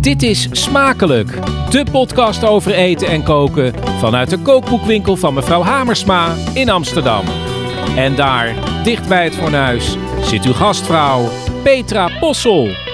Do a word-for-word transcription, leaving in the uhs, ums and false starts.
Dit is Smakelijk, de podcast over eten en koken vanuit de kookboekwinkel van mevrouw Hamersma in Amsterdam. En daar, dicht bij het fornuis, zit uw gastvrouw Petra Possel.